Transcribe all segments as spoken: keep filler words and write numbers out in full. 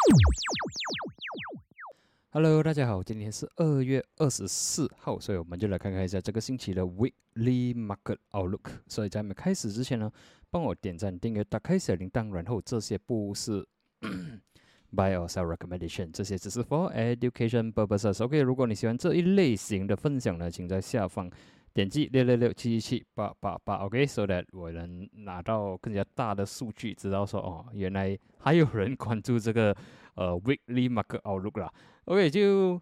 Hello， 大家好，今天是二月二十四号，所以我们就来看看一下这个星期的 Weekly Market Outlook。所以在我们开始之前呢，帮我点赞、订阅、打开小铃铛，然后这些不是buy or sell recommendation， 这些只是 for education purposes。OK， 如果你喜欢这一类型的分享呢，请在下方点击六六六七七七八八八 ，OK，so that 我能拿到更加大的数据，知道说哦，原来还有人关注这个呃 Weekly Market Outlook 啦。OK， 就是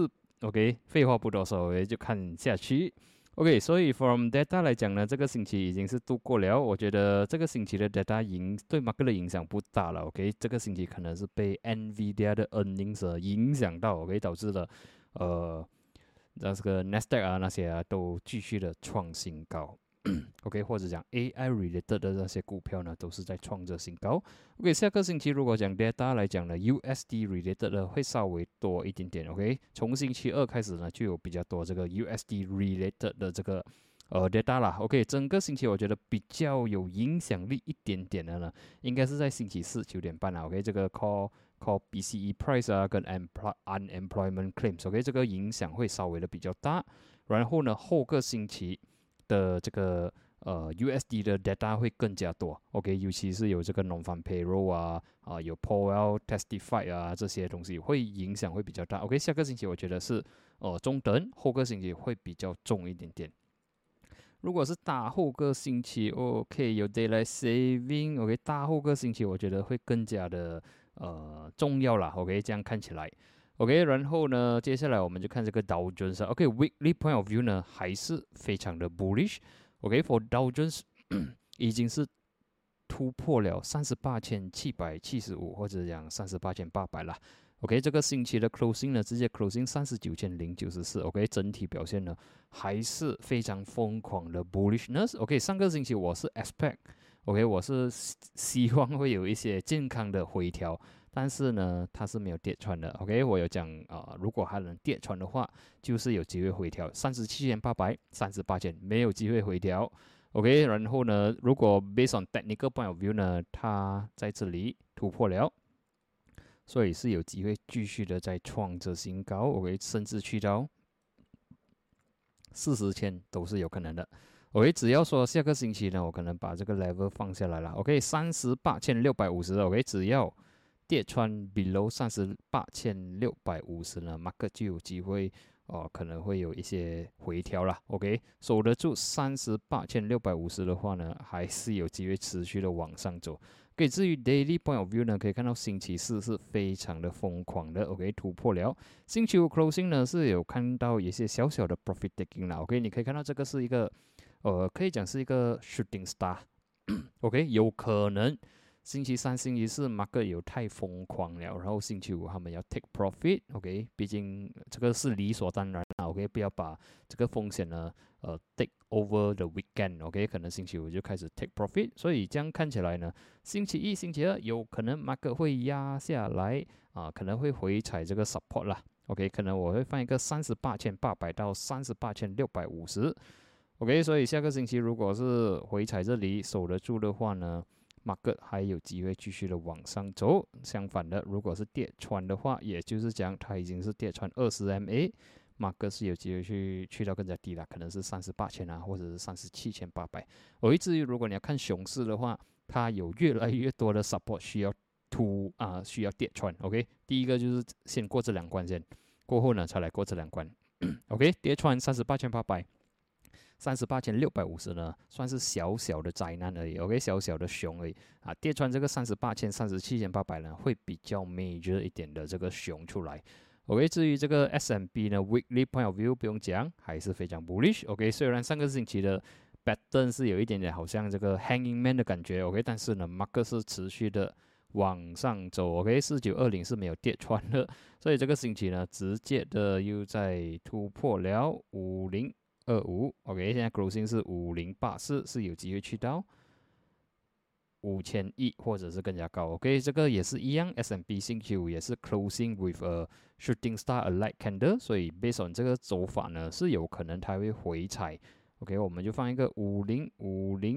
OK， 废话不多说，我就看下去。OK， 所以 from data 来讲呢，这个星期已经是度过了。我觉得这个星期的 data 影对 market 的影响不大了。OK， 这个星期可能是被 Nvidia 的 earnings 影响到 ，OK， 导致了呃。那这个 Nasdaq 啊那些啊都继续的创新高，OK， 或者讲 A I related 的那些股票呢都是在创着新高。OK， 下个星期如果讲 data 来讲呢 ，U S D related 的会稍微多一点点。OK， 从星期二开始呢就有比较多这个 U S D related 的这个呃 data 啦。OK， 整个星期我觉得比较有影响力一点点的呢，应该是在星期四九点半啊。OK， 这个 call call B C E price 啊，跟 unemployment claims，OK， 这个影响会稍微的比较大。然后呢，后个星期的这个呃 U S D 的 data 会更加多 ，OK， 尤其是有这个 non-farm payroll 啊，啊有 Powell testify 啊这些东西会影响会比较大。OK， 下个星期我觉得是呃中等，后个星期会比较重一点点。如果是大后个星期 ，OK， 有 daylight saving，OK， 大后个星期我觉得会更加的呃重要啦 ，OK， 这样看起来 ，OK， 然后呢，接下来我们就看这个 Dow Jones，OK，Weekly point of view 呢还是非常的 bullish，OK，for Dow Jones 已经是突破了三十八千七百七十五或者讲三十八千八百啦。OK， 这个星期的 closing 呢，直接 closing 三十九千零九十四。OK， 整体表现呢还是非常疯狂的 bullishness。OK， 上个星期我是 expect，OK， 我是希望会有一些健康的回调，但是呢，它是没有跌穿的。OK， 我有讲啊、呃，如果它能跌穿的话，就是有机会回调三十七千八百、三十八千，没有机会回调。OK， 然后呢，如果 based on technical point of view 呢，它在这里突破了。所以是有机会继续的在创着新高 ，OK， 甚至去到四十千都是有可能的。OK， 只要说下个星期呢，我可能把这个 level 放下来了 ，OK， 三十八千六百五十 ，OK， 只要跌穿 below 三十八千六百五十呢 ，market 就有机会哦，可能会有一些回调啦 ，OK， 守得住三十八千六百五十的话呢，还是有机会持续的往上走。OK， 至于 daily point of view 呢，可以看到星期四是非常的疯狂的 ，OK， 突破了。星期五 closing 呢是有看到一些小小的 profit taking 啦 ，OK， 你可以看到这个是一个，呃，可以讲是一个 shooting star，OK， 有可能星期三、星期四 market 有太疯狂了，然后星期五他们要 take profit，OK， 毕竟这个是理所当然啦 ，OK， 不要把这个风险呢，呃 take over the weekend，OK， 可能星期五就开始 take profit， 所以这样看起来呢，星期一、星期二有可能 market 会压下来啊，可能会回踩这个 support 啦 ，OK， 可能我会放一个三十八千八百到三十八千六百五十 ，OK， 所以下个星期如果是回踩这里守得住的话呢，market 还有机会继续的往上走。相反的，如果是跌穿的话，也就是讲它已经是跌穿二十 M A。market 是有机会去去到更加低了，可能是三十八千啊，或者是三十七千八百。而至于如果你要看熊市的话，它有越来越多的 support 需要突啊、呃，需要跌穿。OK， 第一个就是先过这两关先，过后呢才来过这两关。OK， 跌穿三十八千八百。三十八千六百五十呢，算是小小的灾难而已 ，OK， 小小的熊而已啊。跌穿这个三十八千、三十七千八百呢，会比较 major 一点的这个熊出来。OK， 至于这个 S and P 呢 ，Weekly point of view 不用讲，还是非常 bullish。OK， 虽然上个星期的 pattern 是有一点点好像这个 hanging man 的感觉 ，OK， 但是呢 ，market 是持续的往上走 ，OK， 四九二零是没有跌穿的，所以这个星期呢，直接的又在突破了五零二五 ，OK， 现在 closing 是五零八四，是有机会去到五千亿或者是更加高 ，OK， 这个也是一样 ，S and P 星期五也是 closing with a shooting star a light candle， 所以 based on 这个走法呢，是有可能它会回踩 ，OK， 我们就放一个五零五零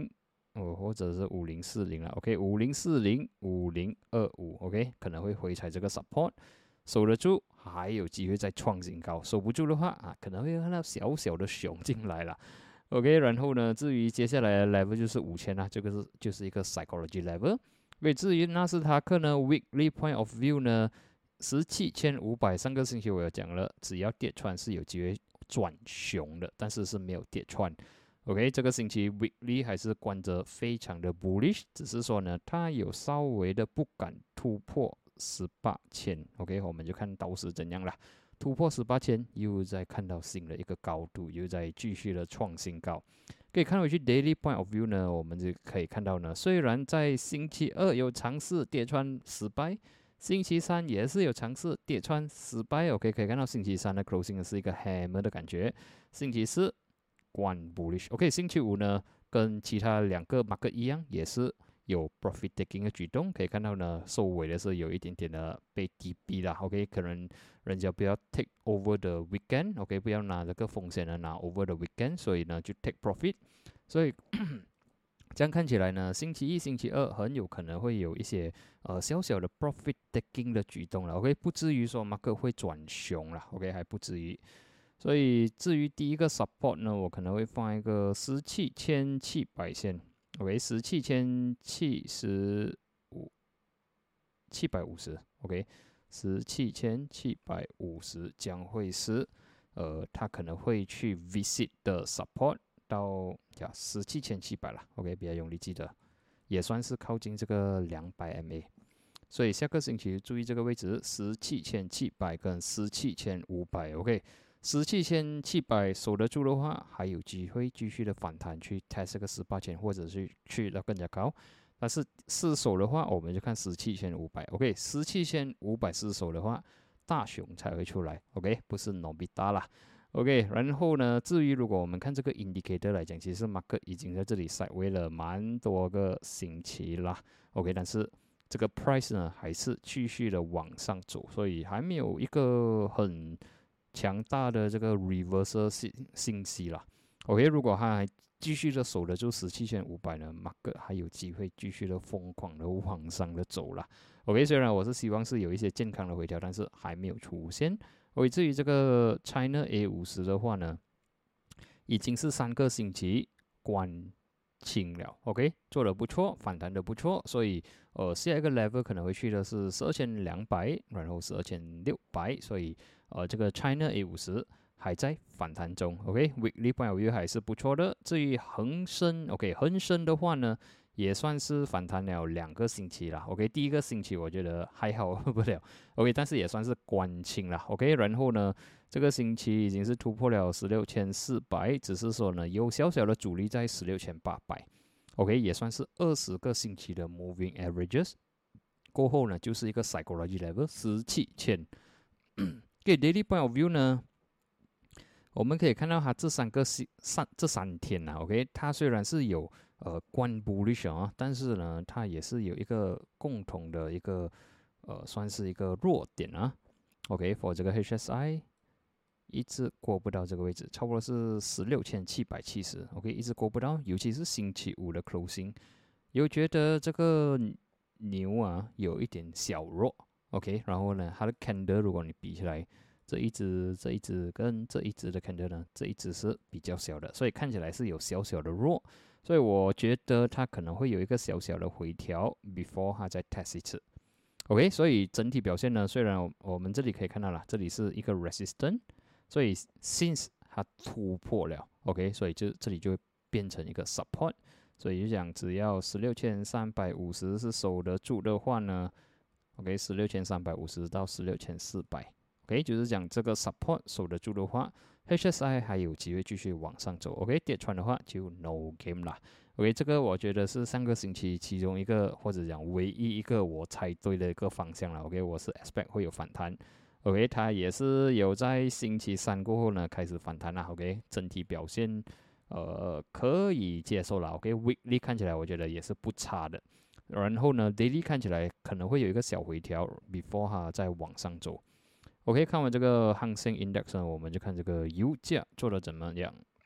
哦，或者是五零四零了 ，OK， 五零四零、五零二五 ，OK， 可能会回踩这个 support， 守得住还有机会再创新高，守不住的话啊，可能会看到小小的熊进来了。OK， 然后呢，至于接下来的 level 就是五千啦，这个是就是一个 psychology level。所以至于纳斯达克呢 ，weekly point of view 呢，十七千五百，上个星期我有讲了，只要跌穿是有机会转熊的，但是是没有跌穿。OK， 这个星期 weekly 还是关着非常的 bullish， 只是说呢，它有稍微的不敢突破十八千。OK， 我们就看到时怎样啦。突破十八千，又在看到新的一个高度，又在继续的创新高。可以看回去 daily point of view 呢，我们就可以看到呢，虽然在星期二有尝试跌穿失败，星期三也是有尝试跌穿失败。OK， 可以看到星期三的 closing 是一个 hammer 的感觉，星期四关 bullish。OK， 星期五呢，跟其他两个 market 一样，也是有 profit taking 的举动，可以看到呢，收尾的是有一点点的被低逼啦。OK， 可能人家不要 take over the weekend，OK， 不要拿这个风险呢拿 over the weekend， 所以呢就 take profit。所以这样看起来呢，星期一、星期二很有可能会有一些呃小小的 profit taking 的举动了。OK， 不至于说 market 会转熊了。OK， 还不至于。所以至于第一个 support 呢，我可能会放一个十七千七百线。OK， 十七千七十五七百五十 ，OK， 十七千七百五十将会是，呃，它可能会去 visit 的 support 到呀十七千七百了 ，OK， 比较容易记得，也算是靠近这个两百 M A， 所以下个星期注意这个位置，十七千七百跟十七千五百 ，OK。十七千七百守得住的话，还有机会继续的反弹去 test 这个十八千，或者是去到更加高。但是失守的话，我们就看十七千五百。OK， 十七千五百失守的话，大熊才会出来。OK， 不是 Nobita 啦。OK， 然后呢，至于如果我们看这个 indicator 来讲，其实 market 已经在这里 sideway 了蛮多个星期啦。OK， 但是这个 price 呢还是继续的往上走，所以还没有一个很强大的这个 reversal 信信息啦。OK， 如果它还继续的守得住十七千五百呢 ，market 还有机会继续的疯狂的往上的走啦。OK， 虽然我是希望是有一些健康的回调，但是还没有出现。OK， 至于这个 China A 五十的话呢，已经是三个星期关清了 ，OK， 做得不错，反弹的不错，所以呃下一个 level 可能会去的是十二千两百，然后十二千六百，所以呃这个 China A 五十还在反弹中 ，OK，weekly point of view 还是不错的。至于恒生 ，OK， 恒生的话呢，也算是反弹了两个星期了 ，OK， 第一个星期我觉得还好不了 ，OK， 但是也算是关清了 ，OK， 然后呢，这个星期已经是突破了十六千四百，只是说呢有小小的阻力在十六千八百 ，OK， 也算是二十个星期的 moving averages， 过后呢就是一个 psychology level 十七千。给 daily point of view 呢，我们可以看到它这三个三这三天啊 ，OK， 它虽然是有呃关 bullish 啊，但是呢，它也是有一个共同的一个呃算是一个弱点啊 ，OK，for 这个 H S I 一直过不到这个位置，差不多是十六千七百七十 ，OK， 一直过不到，尤其是星期五的 closing， 有觉得这个牛啊有一点小弱。OK， 然后呢，它的 candle 如果你比起来，这一只、这一只跟这一只的 candle 呢，这一只是比较小的，所以看起来是有小小的弱，所以我觉得它可能会有一个小小的回调 ，before 它再 test 一次。OK， 所以整体表现呢，虽然我们这里可以看到了，这里是一个 resistance， 所以 since 它突破了 ，OK， 所以就这里就会变成一个 support， 所以就讲只要十六千三百五十是守得住的话呢。OK， 十六千三百五十到十六千四百 ，OK， 就是讲这个 support 守得住的话 ，H S I 还有机会继续往上走。OK， 跌穿的话就 no game 啦。OK， 这个我觉得是上个星期其中一个或者讲唯一一个我猜对的一个方向了。OK， 我是 expect 会有反弹。OK， 它也是有在星期三过后呢开始反弹啦。OK， 整体表现呃可以接受了。OK，weekly 看起来我觉得也是不差的。然后呢 ，daily 看起来可能会有一个小回调 ，before 它再往上走。OK， 看完这个恒生 index 呢，我们就看这个油价做的怎么样。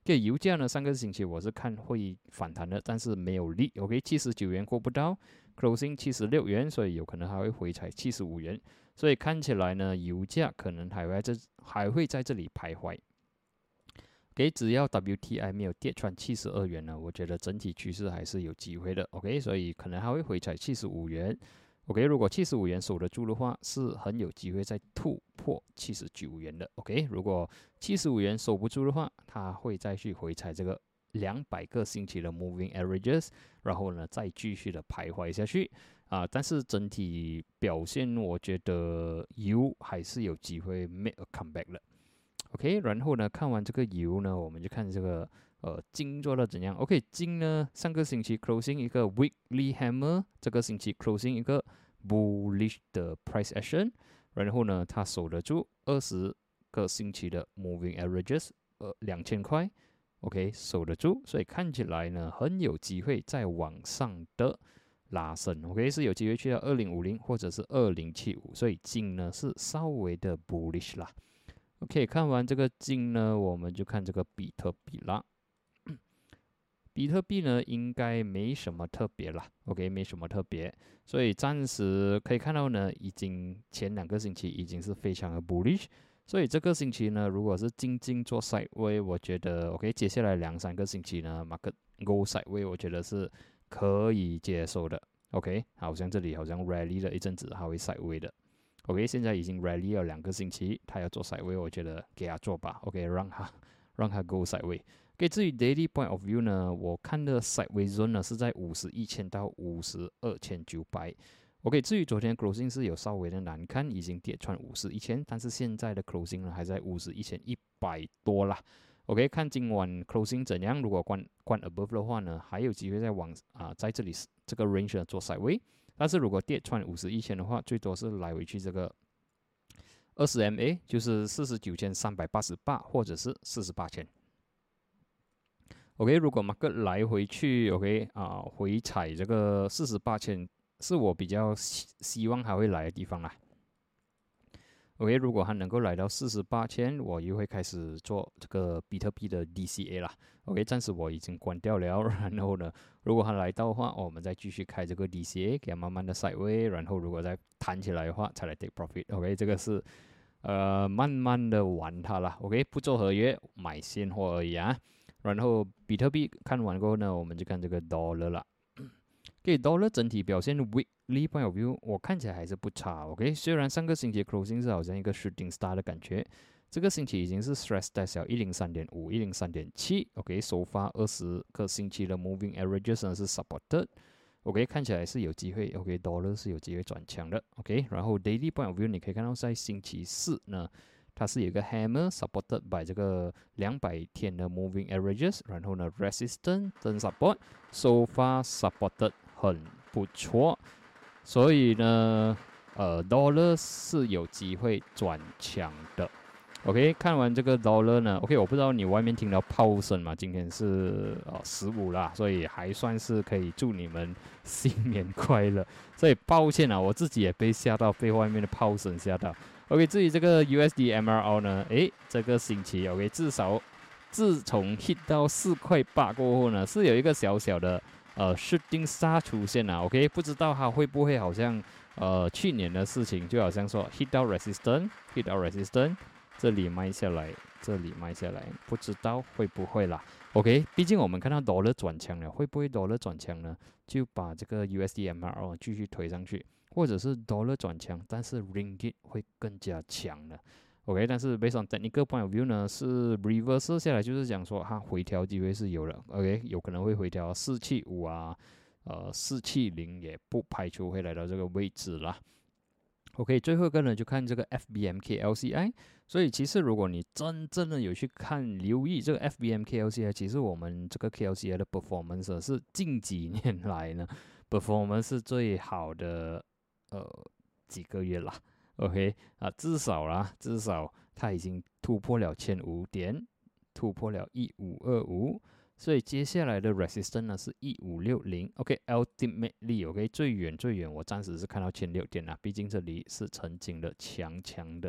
给油价呢，上个星期我是看会反弹的，但是没有力。OK， 七十九元过不到 ，closing 七十六元，所以有可能还会回踩七十五元。所以看起来呢，油价可能还会在这还会在这里徘徊。OK， 只要 W T I 没有跌穿七十二元呢，我觉得整体趋势还是有机会的。OK， 所以可能还会回踩七十五元。OK， 如果七十五元守得住的话，是很有机会再突破七十九元的。OK， 如果七十五元守不住的话，它会再去回踩这个两百个星期的 moving averages， 然后呢再继续的徘徊下去啊。但是整体表现，我觉得油还是有机会 make a comeback 的。OK， 然后呢，看完这个油呢，我们就看这个呃金做的怎样。OK， 金呢上个星期 closing 一个 weekly hammer， 这个星期 closing 一个 bullish 的 price action， 然后呢它守得住二十个星期的 moving averages， 呃两千块 ，OK 守得住，所以看起来呢很有机会再往上的拉升 ，OK 是有机会去到二零五零或者是二零七五，所以金呢是稍微的 bullish 啦。OK， 看完这个金呢，我们就看这个比特币啦。比特币呢，应该没什么特别啦 ，OK， 没什么特别，所以暂时可以看到呢，已经前两个星期已经是非常的 bullish， 所以这个星期呢，如果是静静做 sideway， 我觉得 OK， 接下来两三个星期呢 ，market go sideway， 我觉得是可以接受的 ，OK， 好像这里好像 rally 了一阵子，还会 sideway 的。OK， 现在已经 rally 了两个星期，他要做 sideway， 我觉得给他做吧。OK， 让他让他 go sideway。OK， 至于 daily point of view 呢，我看的 sideway zone 呢是在五十一千到五十二千九百。OK， 至于昨天 closing 是有稍微的难看，已经跌穿五十一千，但是现在的 closing 呢还在五十一千一百多啦。OK， 看今晚 closing 怎样，如果关关 above 的话呢，还有机会再往啊、呃、在这里这个 range 做 sideway。但是如果跌穿五十一千的话，最多是来回去这个二十 M A， 就是四十九千三百八十八，或者是四十八千。OK， 如果 market 来回去 ，OK 啊、呃，回踩这个四十八千，是我比较希希望还会来的地方啦。OK， 如果它能够来到四十八千，我又会开始做这个比特币的 D C A 啦。OK， 暂时我已经关掉了。然后呢，如果它来到的话，哦、我们再继续开这个 D C A， 给它慢慢的 sideway。然后如果再弹起来的话，才来 take profit。OK， 这个是呃慢慢的玩它啦。OK， 不做合约，买现货而已啊。然后比特币看完过后呢，我们就看这个 dollar 啦。给 dollar 整体表现 weekly point of view， 我看起来还是不差 ，OK。虽然上个星期 closing 是好像一个 shooting star 的感觉，这个星期已经是 stress test 了一零三点五、一零三点七 ，OK。首发二十个星期的 moving averages 呢是 supported，OK， 看起来是有机会 ，OK，dollar 是有机会转强的 ，OK。然后 daily point of view 你可以看到在星期四呢，它是有一个 hammer supported by 这个两百天的 moving averages， 然后呢 resistance 跟 support so far supported 很不错，所以呢，呃 dollar 是有机会转强的。OK， 看完这个 dollar 呢 ，OK， 我不知道你外面听到炮声嘛？今天是呃十五啦，所以还算是可以祝你们新年快乐。所以抱歉啊，我自己也被吓到，被外面的炮声吓到。OK， 至于这个 U S D M R L 呢，诶，这个星期 OK， 至少自从 hit 到四块八过后呢，是有一个小小的呃 shooting star 出现了 ，OK， 不知道它会不会好像呃去年的事情，就好像说 hit 到 resistance，hit 到 resistance。这里卖下来，这里卖下来，不知道会不会啦。OK， 毕竟我们看到 dollar 转强了，会不会 dollar 转强呢？就把这个 U S D M R L 继续推上去，或者是 dollar 转强，但是 ringgit 会更加强呢。OK， 但是 based on technical point of view 呢，是 reverse 下来，就是讲说它回调机会是有的。OK， 有可能会回调四七五啊，呃四七零也不排除会来到这个位置啦。OK， 最后一个呢，就看这个 F B M K L C I。所以其实如果你真正的有去看留意这个 F B M K L C I， 其实我们这个 K L C I 的 performance 是近几年来呢 performance 是最好的呃几个月啦。OK 啊，至少啦，至少它已经突破了千五点，突破了一五二五。所以接下来的 resistance 呢是一五六零 ，OK，ultimately OK 最远最远我暂时是看到千六点啦，毕竟这里是曾经的强强的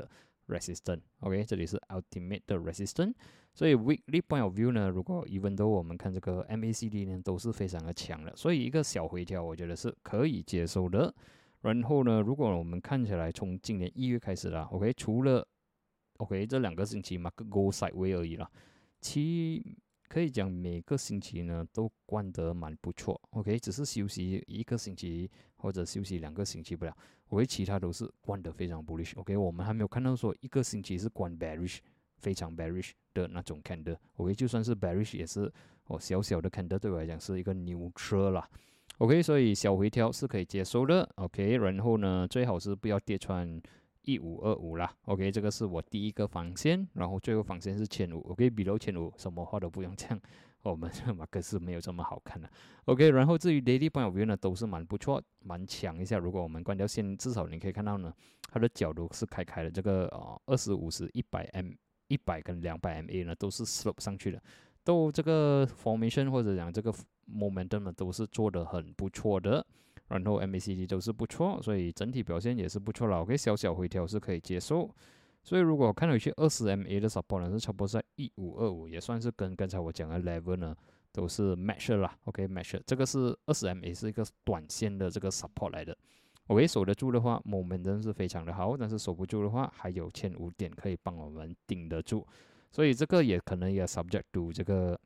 resistance，OK，、okay? 这里是 ultimate 的 resistance， 所以 weekly point of view 呢，如果 even though 我们看这个 M A C D 呢都是非常的强的，所以一个小回调我觉得是可以接受的。然后呢，如果我们看起来从今年一月开始啦 ，OK， 除了 OK 这两个星期 market go sideways 而已啦，其可以讲每个星期呢都关得蛮不错 ，OK， 只是休息一个星期或者休息两个星期不了，OK， 其他都是关得非常 bullish，OK，、okay? 我们还没有看到说一个星期是关 bearish， 非常 bearish 的那种 candle，OK，、okay? 就算是 bearish 也是哦小小的 candle 对我来讲是一个 neutral 啦。OK， 所以小回调是可以接受的。OK， 然后呢，最好是不要跌穿一五二五啦。OK， 这个是我第一个防线，然后最后防线是千五。OK，below 千五，什么话都不用讲，我们马克思没有这么好看的。OK， 然后至于 daily point of view 呢，都是蛮不错，蛮强一下。如果我们关掉线，至少你可以看到呢，它的角度是开开的。这个呃二十五十、一百 M、一百跟两百 M A 呢，都是 slope 上去的。都这个 formation 或者讲这个 momentum 呢，都是做得很不错的，然后 M A C D 都是不错，所以整体表现也是不错了。OK， 小小回调是可以接受。所以如果看回去二十 M A 的 support 呢，是差不多在一五二五，也算是跟刚才我讲的 level 呢都是 match 啦。OK，match， 这个是二十 M A 是一个短线的这个 support 来的。OK， 守得住的话 momentum 是非常的好，但是守不住的话，还有千五点可以帮我们顶得住。所以这个也可能也 subject to 这个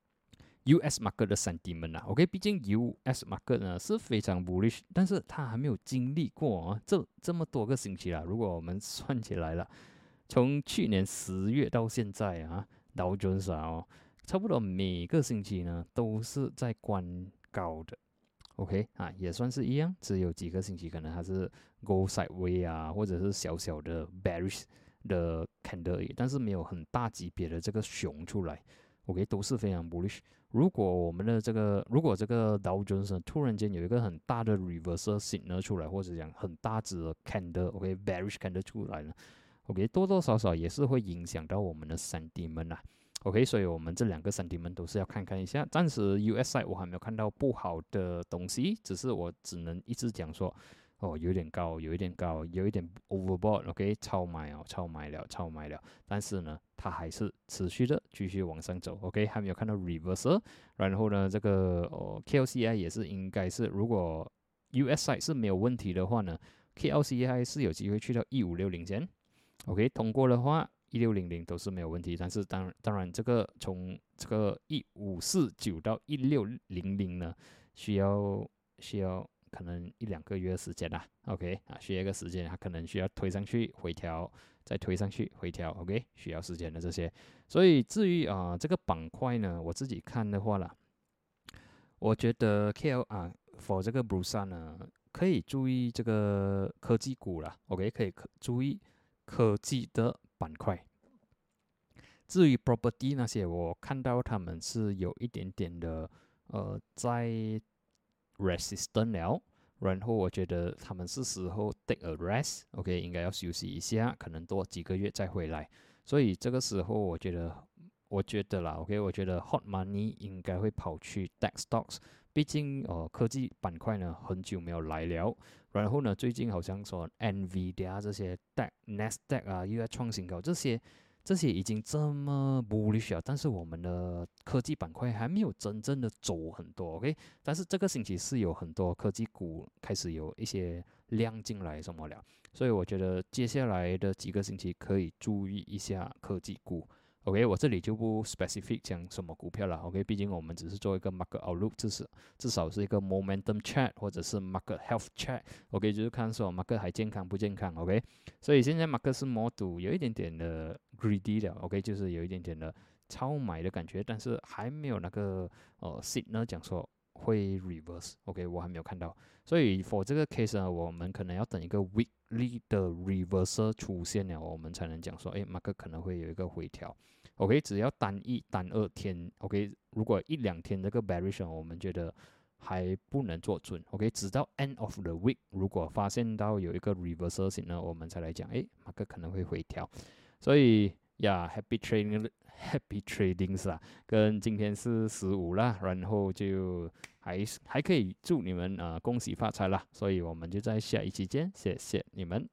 U S market 的 sentiment 啊 ，OK， 毕竟 U S market 呢是非常 bullish， 但是它还没有经历过啊这这么多个星期啦。如果我们算起来了，从去年十月到现在啊，道琼斯啊、哦，差不多每个星期呢都是在关高的 ，OK 啊，也算是一样，只有几个星期可能它是 go sideways 啊，或者是小小的 bearish。的 candle 而已，但是没有很大级别的这个熊出来 ，OK， 都是非常 bullish。如果我们的这个，如果这个 Dow Jones 突然间有一个很大的 reversal signal 出来，或者讲很大只的 candle，OK，bearish candle 出来了 ，OK， 多多少少也是会影响到我们的 sentiment 啊。OK， 所以我们这两个 sentiment 都是要看看一下。暂时 U S side 我还没有看到不好的东西，只是我只能一直讲说。哦，有点高，有一点高，有一点 overbought，OK， 超买哦，超买了，超买了。但是呢，它还是持续的继续往上走 ，OK， 还没有看到 reversal。然后呢，这个哦 K L C I 也是应该是，如果 U S side 是没有问题的话呢 ，K L C I 是有机会去到一五六零线 ，OK， 通过的话一六零零都是没有问题。但是当当然，这个从这个一五四九到一六零零呢，需要需要。可能一两个月时间啦 ，OK 啊，需要一个时间，它可能需要推上去回调，再推上去回调 ，OK， 需要时间的这些。所以至于啊、呃、这个板块呢，我自己看的话啦，我觉得 K L 啊 for 这个 Bursa 呢，可以注意这个科技股啦 ，OK， 可以注意科技的板块。至于 property 那些，我看到他们是有一点点的呃在。resistant 了，然后我觉得他们是时候 take a rest，OK， 应该要休息一下，可能多几个月再回来。所以这个时候我觉得，我觉得啦 ，OK， 我觉得 hot money 应该会跑去 tech stocks， 毕竟呃科技板块呢很久没有来了，然后呢最近好像说 Nvidia 这些 tech、Nasdaq 啊又要创新高，这些。这些已经这么 bullish 了，但是我们的科技板块还没有真正的走很多 ，OK？ 但是这个星期是有很多科技股开始有一些量进来什么了，所以我觉得接下来的几个星期可以注意一下科技股。OK， 我这里就不 specific 讲什么股票了 ，OK， 毕竟我们只是做一个 market outlook， 至少至少是一个 momentum chart 或者是 market health chart，OK， 就是看说 market 还健康不健康 ，OK， 所以现在 market 是 more to 有一点点的 greedy 的 ，OK， 就是有一点点的超买的感觉，但是还没有那个呃 signal 讲说会 reverse，OK， 我还没有看到，所以 for 这个 case 呢，我们可能要等一个 weekly 的 reversal 出现了，我们才能讲说，哎 ，market 可能会有一个回调。OK， 只要单一、单二天 ，OK， 如果一两天这个 bearish， 我们觉得还不能做准 ，OK， 直到 end of the week， 如果发现到有一个 reversal 型呢，我们才来讲，哎 ，market 可能会回调。所以呀、yeah, ，happy trading，happy tradings 啦，跟今天是十五啦，然后就还还可以祝你们啊、呃、恭喜发财啦，所以我们就在下一期见，谢谢你们。